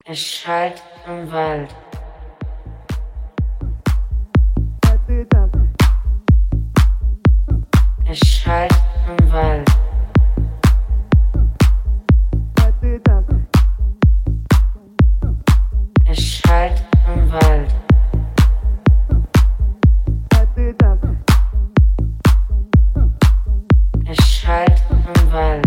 Es schallt im Wald. Es schallt im Wald. Es schallt im Wald. Es schallt im Wald.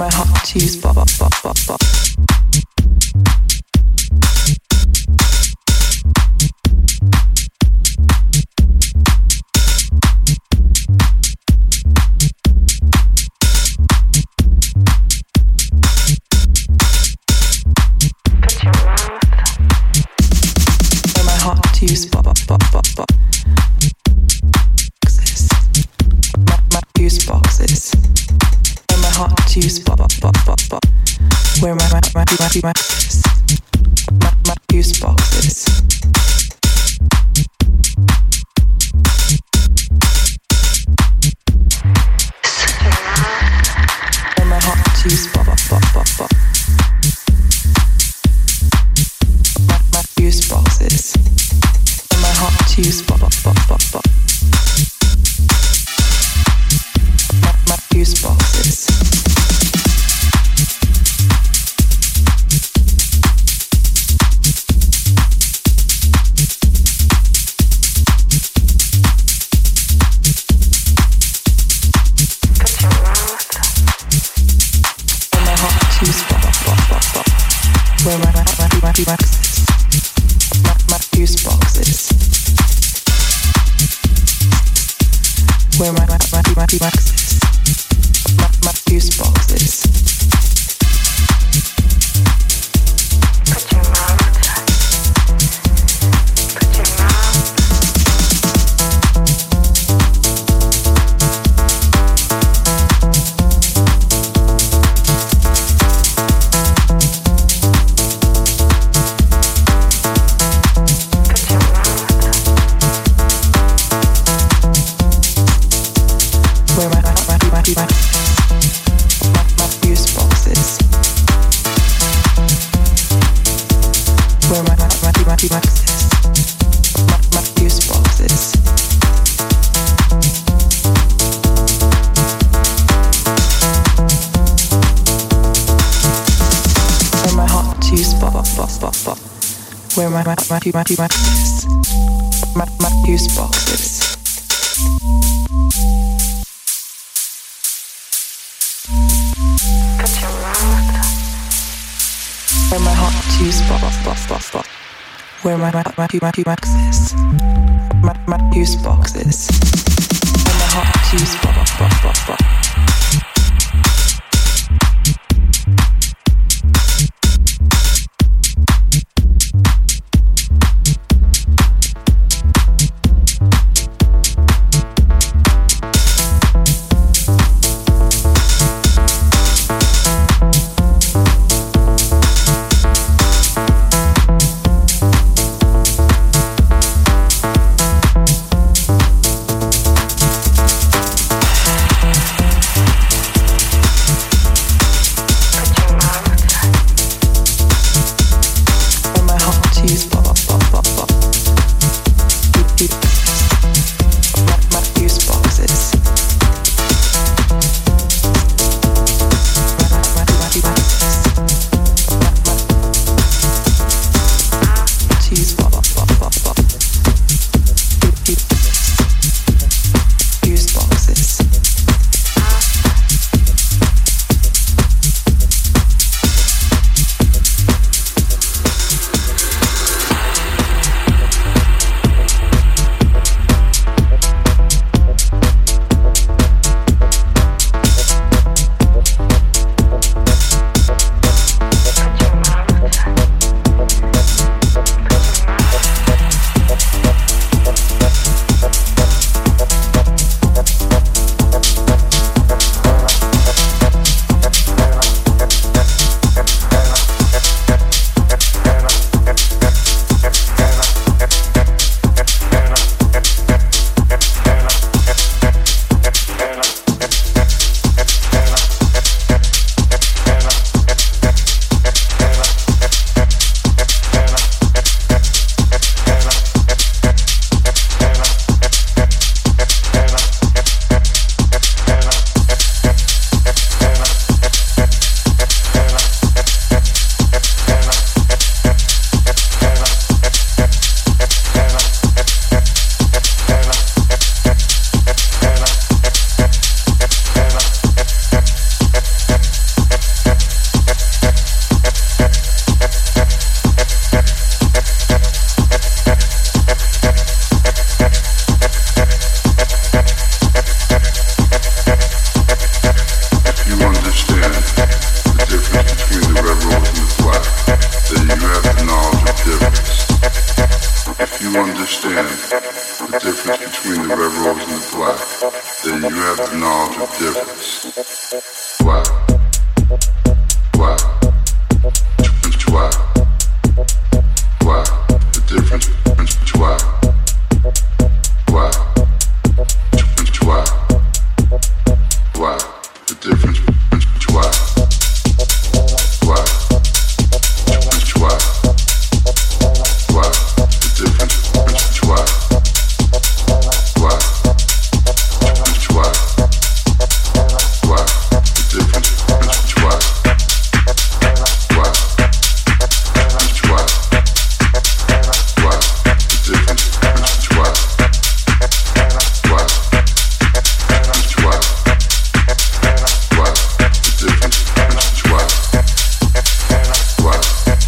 my heart to use bop bop bop bop bop. Use bop bop bop bop bop. My fuse boxes. Where my heart use bop bop bop bop bop. Where my fuse boxes. Where my heart use bop bop bop bop bop. My fuse boxes. My heart to use bop bop bop bop bop. My fuse boxes. My heart to use bop bop bop bop bop. Where my boxes. My fuse boxes. Where my boxes. My fuse boxes. Put your mouth. Put your mouth. Where my fuse boxes. Where my boxes. My fuse boxes. Where my heart use bop bop bop bop bop. Where my boxes. My fuse boxes. Put your mouth. Where my heart use bop bop bop bop bop. Where my boxes. My fuse boxes. Where my heart use bop bop bop bop bop. understand the difference between the red rose and the black, then you have the knowledge of difference. Black. Black. Black. Black. The difference between black. Black. Black. Black. The difference between black. Black. Black. Black. The difference between black. Black. Black. Black. The difference between black. Black. Black. Black. The difference between black. Black. Black. Black. The difference between black. Black.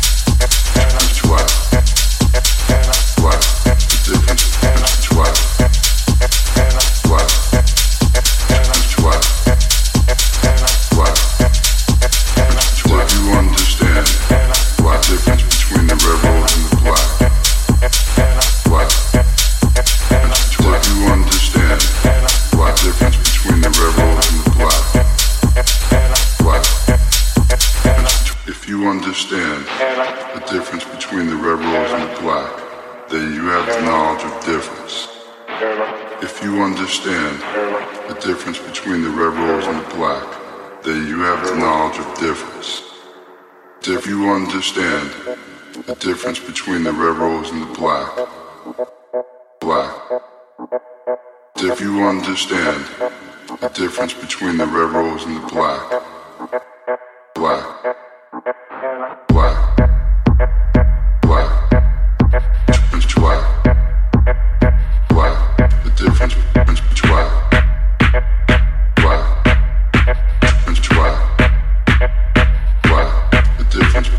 Understand the difference between the red rose and the black, then you have the knowledge of difference. If you understand the difference between the red rose and the black, then you have the knowledge of difference. If you understand the difference between the red rose and the black, black. If you understand the difference between the red rose and the black, black. Black. Black. Difference black. Black. The difference between black. Black. Difference black. Black. The difference.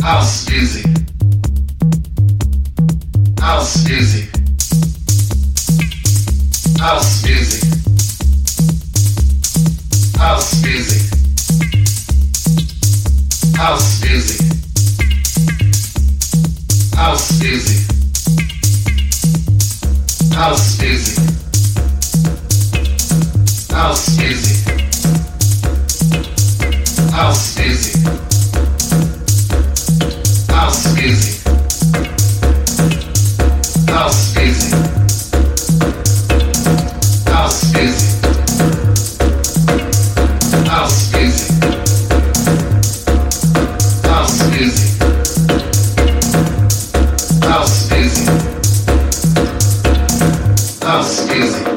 House music. House music. House music. House music. House music. House music. House music. House music. House music. House music. House music. House music. House music. House music. House music. House music.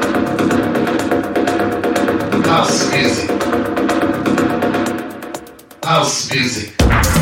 House music. House music.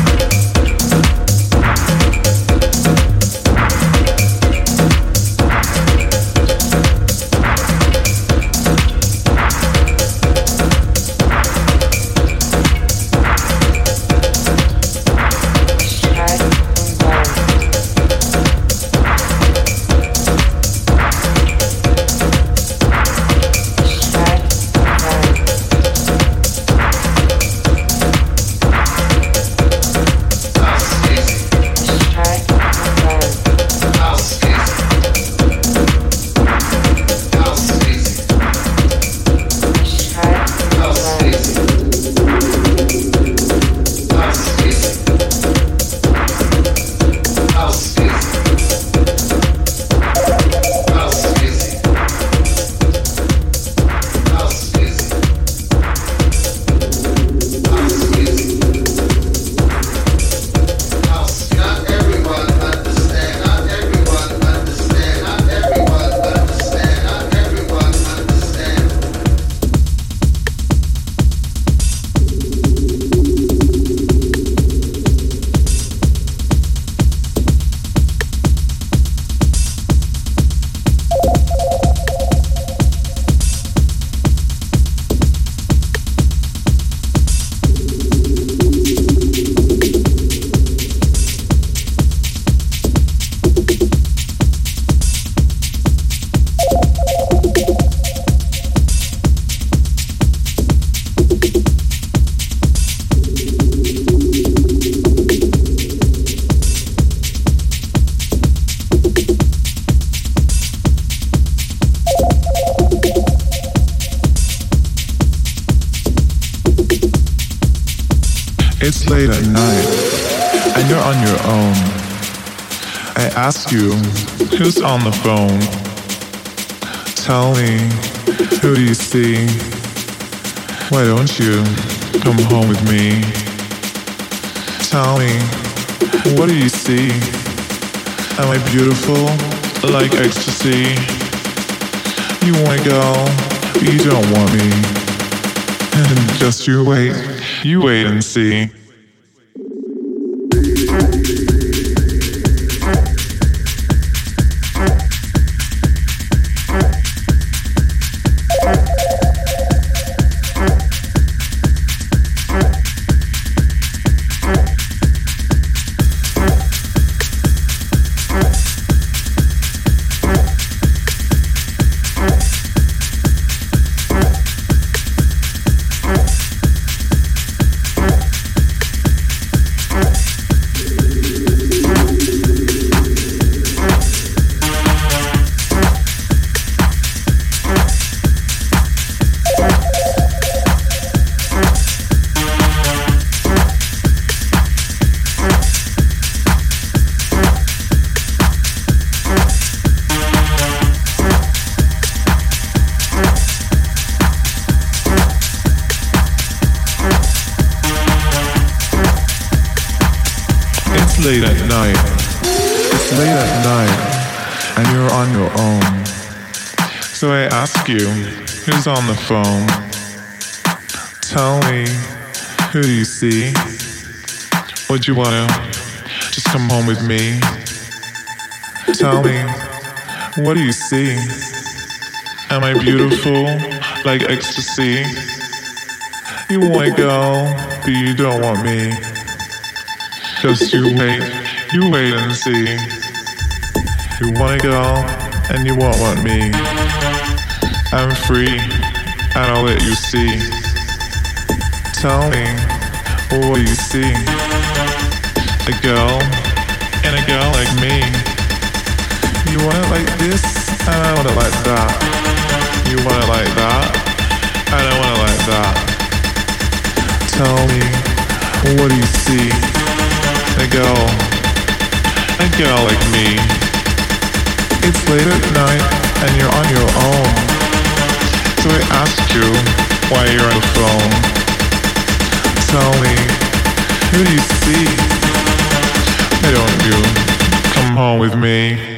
It's late at night, and you're on your own. I ask you, who's on the phone? Tell me, who do you see? Why don't you come home with me? Tell me, what do you see? Am I beautiful, like ecstasy? You wanna go, but you don't want me. And just you wait and see. Late at night. It's late at night, and you're on your own. So I ask you, who's on the phone? Tell me, who do you see? Would you wanna just come home with me? Tell me, what do you see? Am I beautiful, like ecstasy? You wanna go, but you don't want me. Just you wait and see. You want a girl and you won't want me. I'm free and I'll let you see. Tell me, what do you see? A girl and a girl like me. You want it like this and I want it like that. You want it like that and I want it like that. Tell me, what do you see? A girl like me. It's late at night and you're on your own. So I asked you why you're on the phone. Tell me, who do you see? Why don't you come home with me?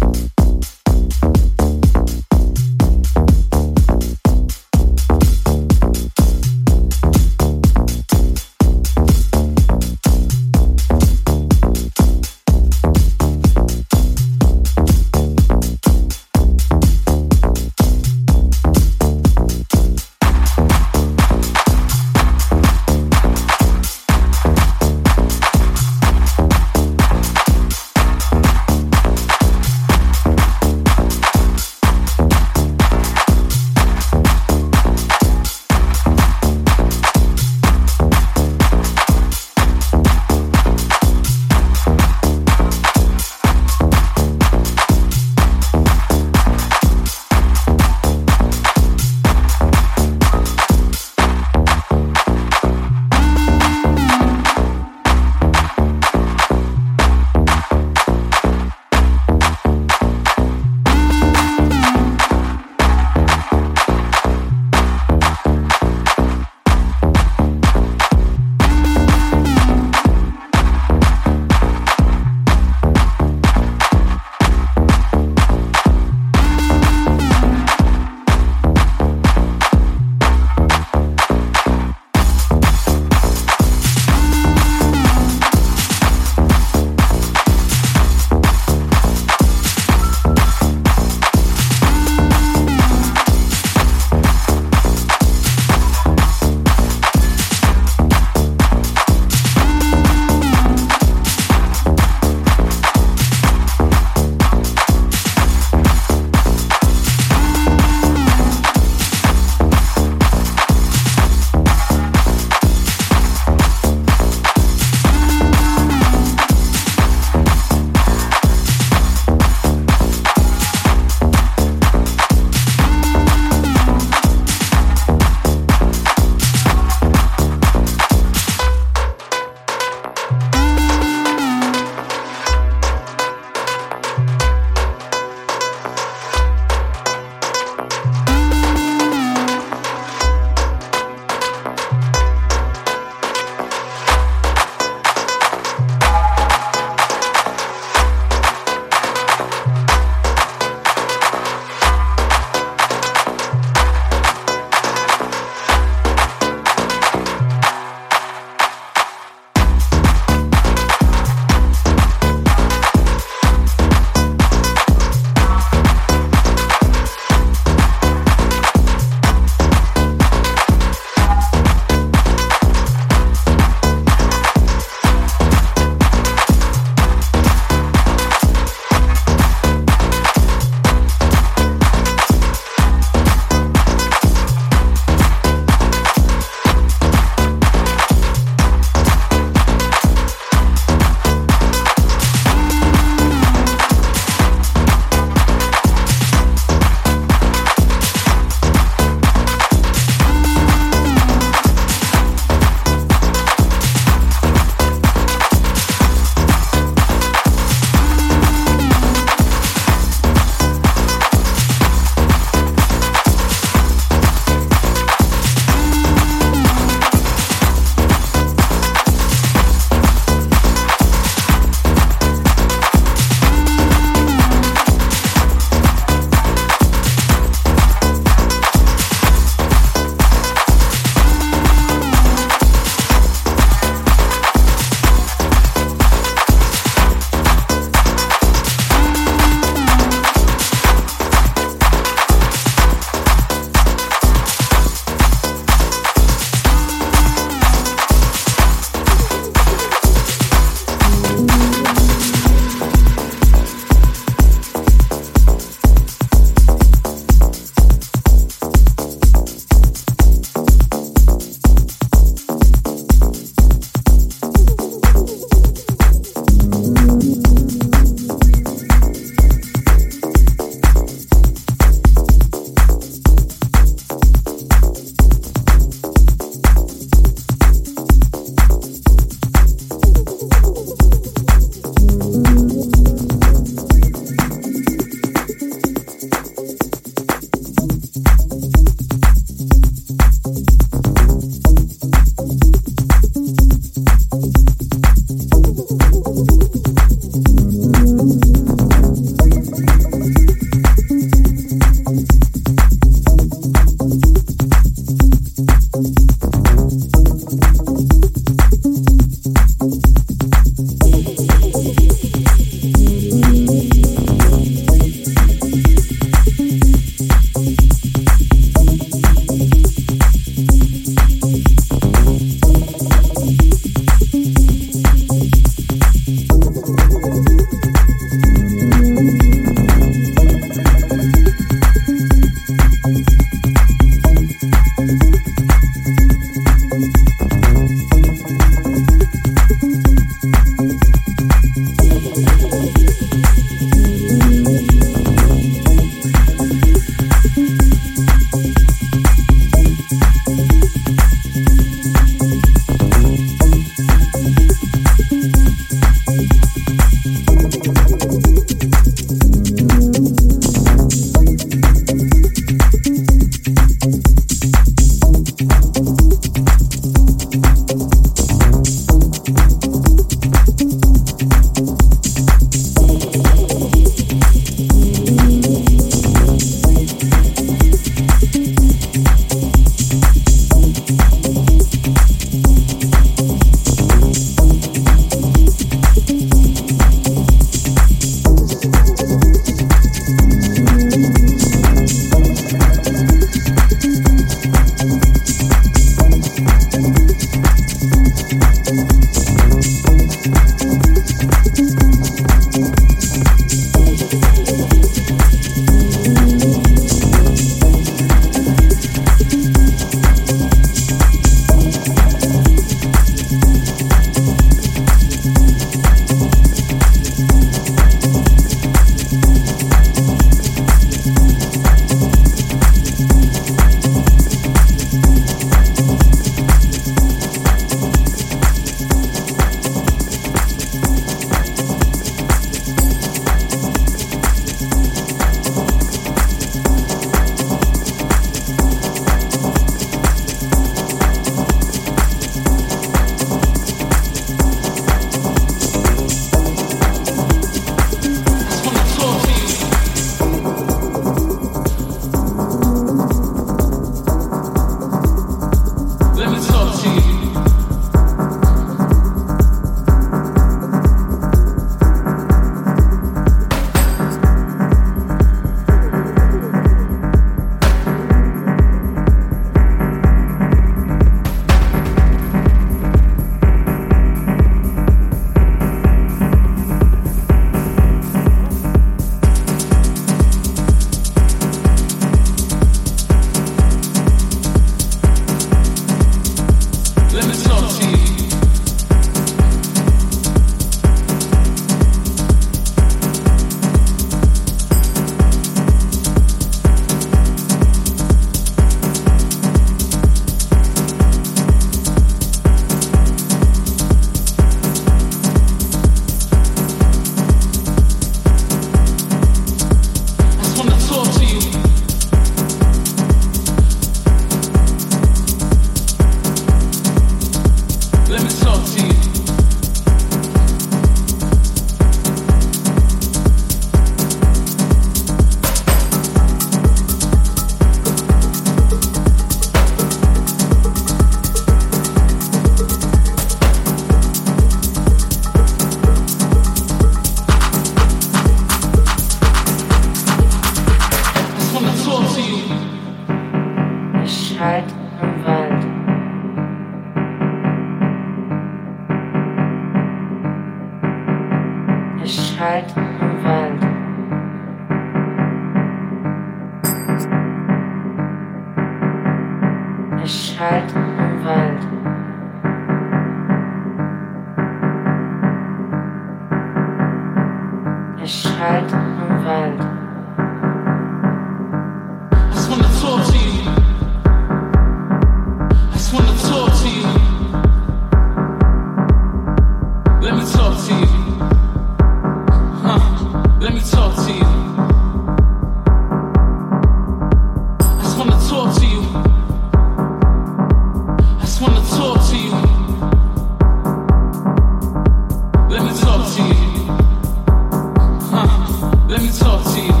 Let me talk to you.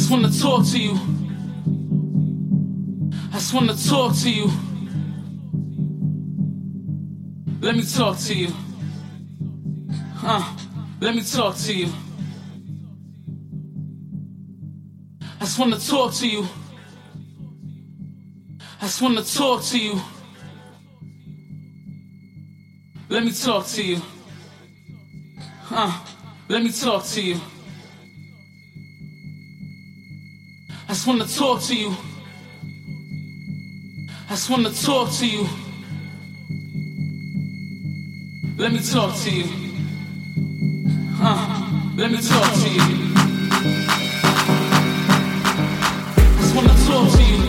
just wanna talk to you. I just wanna talk to you. Let me talk to you. Let me talk to you. I just wanna talk to you. I just wanna talk to you. Let me talk to you. Let me talk to you. I just wanna talk to you. I just wanna talk to you. Let me talk to you. Let me talk to you. I just wanna talk to you.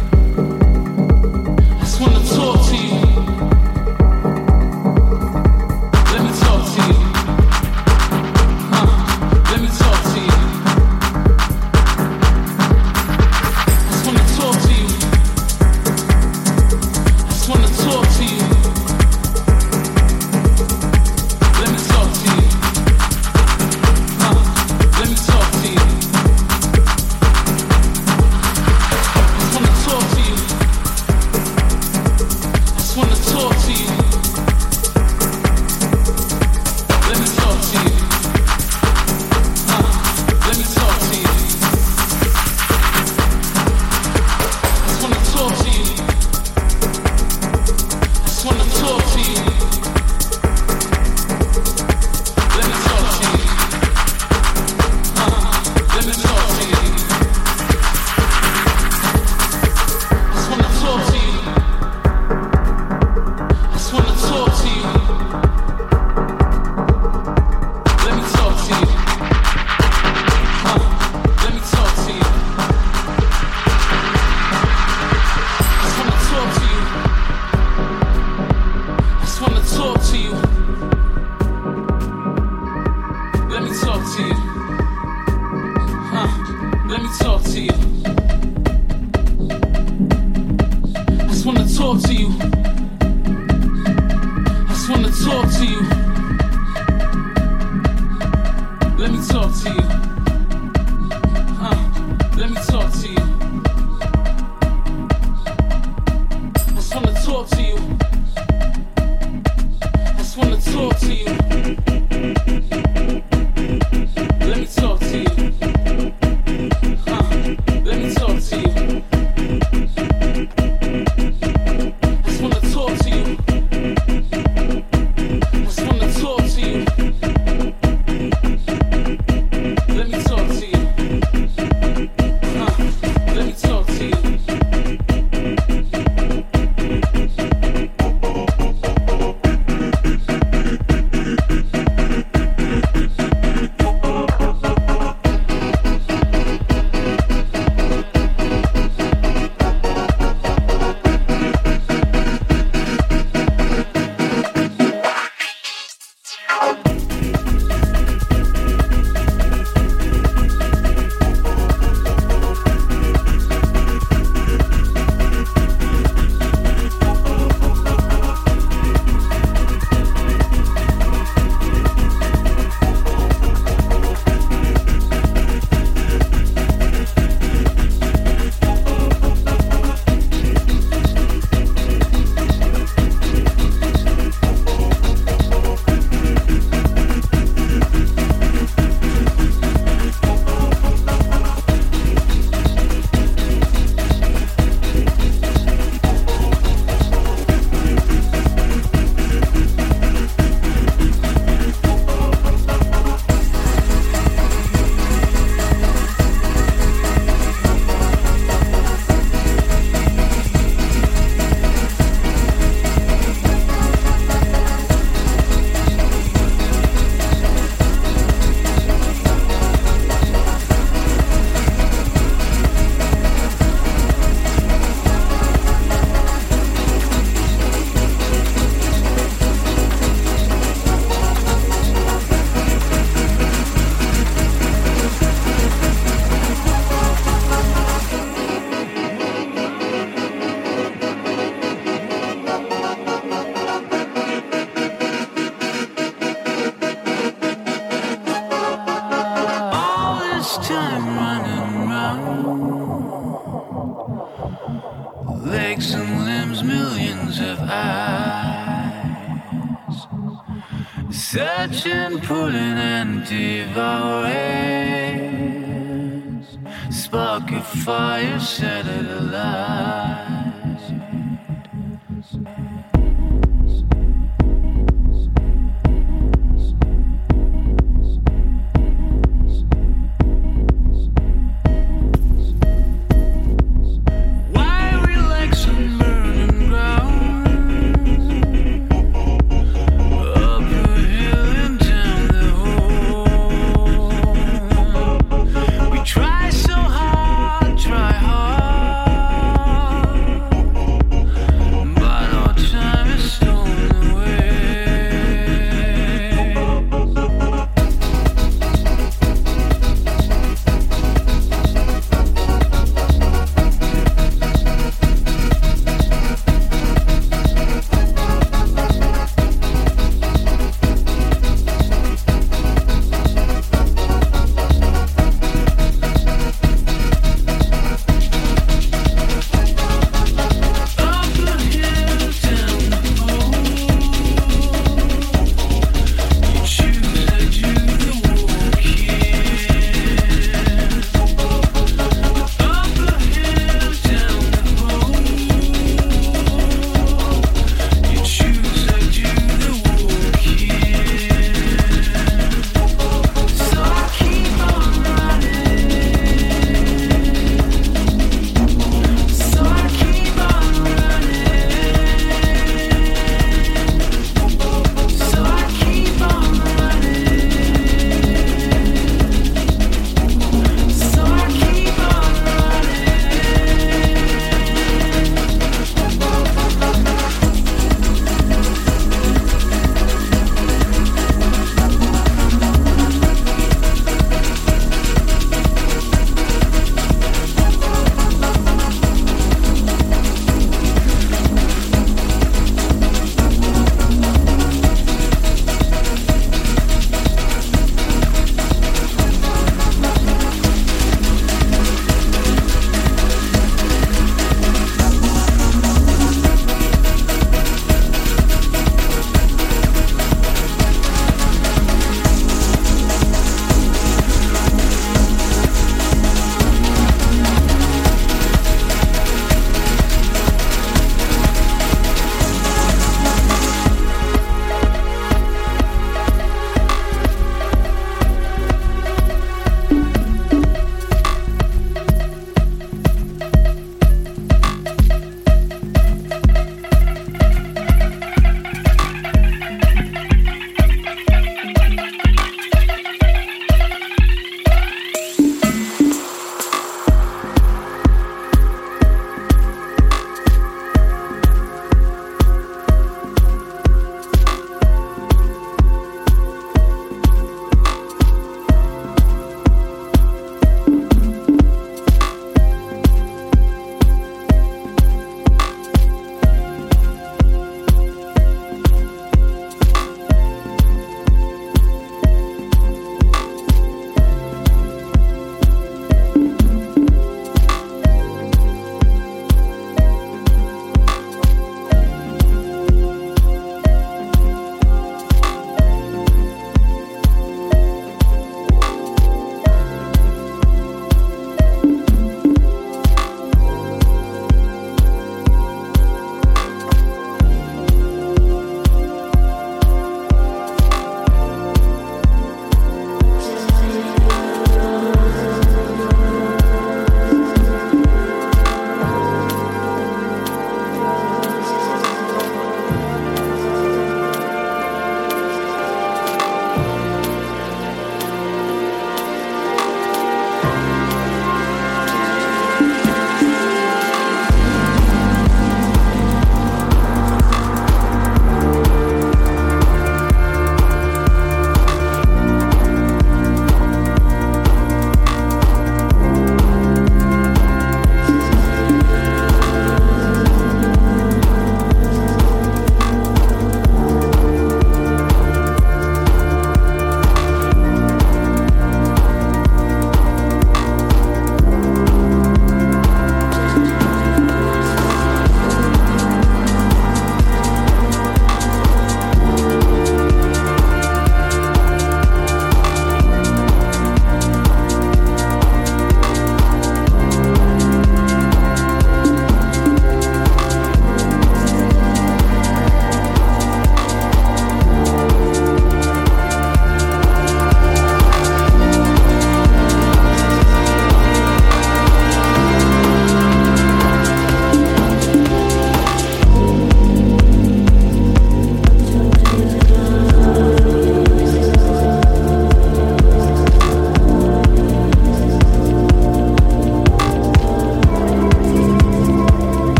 I just wanna talk to you. Let me talk to you. Let me talk to you. I just wanna talk to you. I just wanna talk to you. Let me talk to you. Let much time running round. Legs and limbs, millions of eyes, searching, pulling and devouring. Spark of fire, set it alight. Try hard.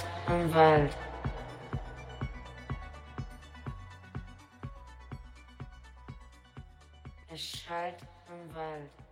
schallt im Wald. Es schallt im Wald.